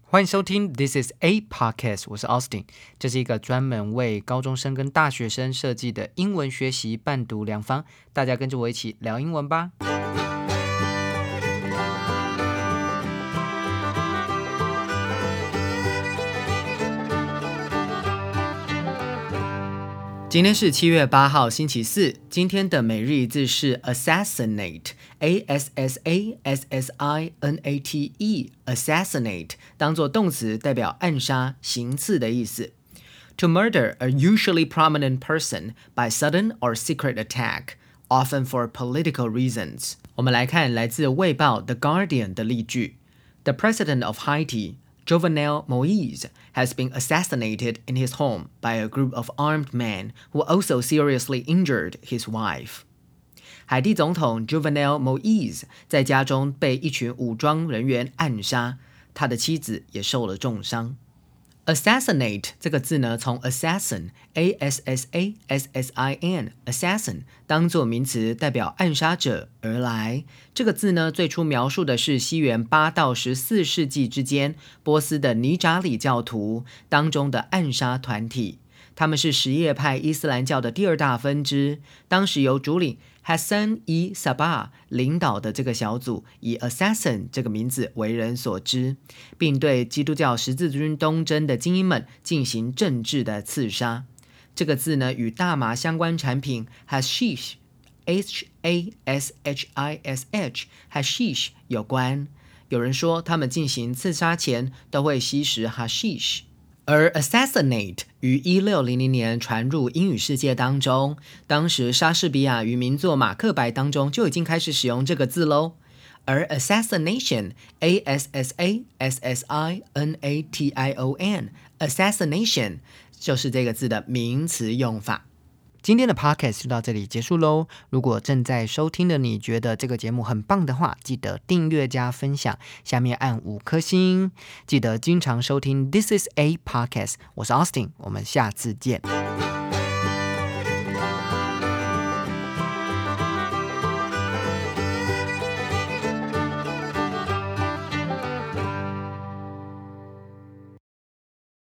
欢迎收听 This is a podcast， 我是 Austin， 这是一个专门为高中生跟大学生设计的英文学习伴读良方，大家跟着我一起聊英文吧。今天是7月8号星期四，今天的每日一字是 assassinate， A-S-S-A-S-S-I-N-A-T-E， assassinate 当作动词代表暗杀、行刺的意思。To murder a usually prominent person by sudden or secret attack, often for political reasons. 我们来看来自《卫报》The Guardian 的例句。The president of Haiti,Jovenel Moise has been assassinated in his home by a group of armed men who also seriously injured his wife. 海地总统 Jovenel Moise 在家中被一群武装人员暗杀，他的妻子也受了重伤。Assassinate 这个字呢，从 assassin A-S-S-A-S-S-I-N assassin 当作名词代表暗杀者而来。这个字呢，最初描述的是西元8到14世纪之间波斯的尼扎里教徒当中的暗杀团体。他们是什叶派伊斯兰教的第二大分支，当时由主领 Hassan-i-Sabbah 领导的这个小组以 assassin 这个名字为人所知，并对基督教十字军东征的精英们进行政治的刺杀。这个字呢，与大麻相关产品 hashish H-A-S-H-I-S-H hashish 有关。有人说他们进行刺杀前都会吸食 hashish。而 assassinate 于1600年传入英语世界当中，当时莎士比亚于名作《马克白》当中就已经开始使用这个字咯。而 assassination A-S-S-A-S-S-I-N-A-T-I-O-N assassination 就是这个字的名词用法。今天的 podcast 就到这里结束咯。如果正在收听的你觉得这个节目很棒的话，记得订阅加分享，下面按5颗星。记得经常收听 This is a podcast， 我是 Austin， 我们下次见。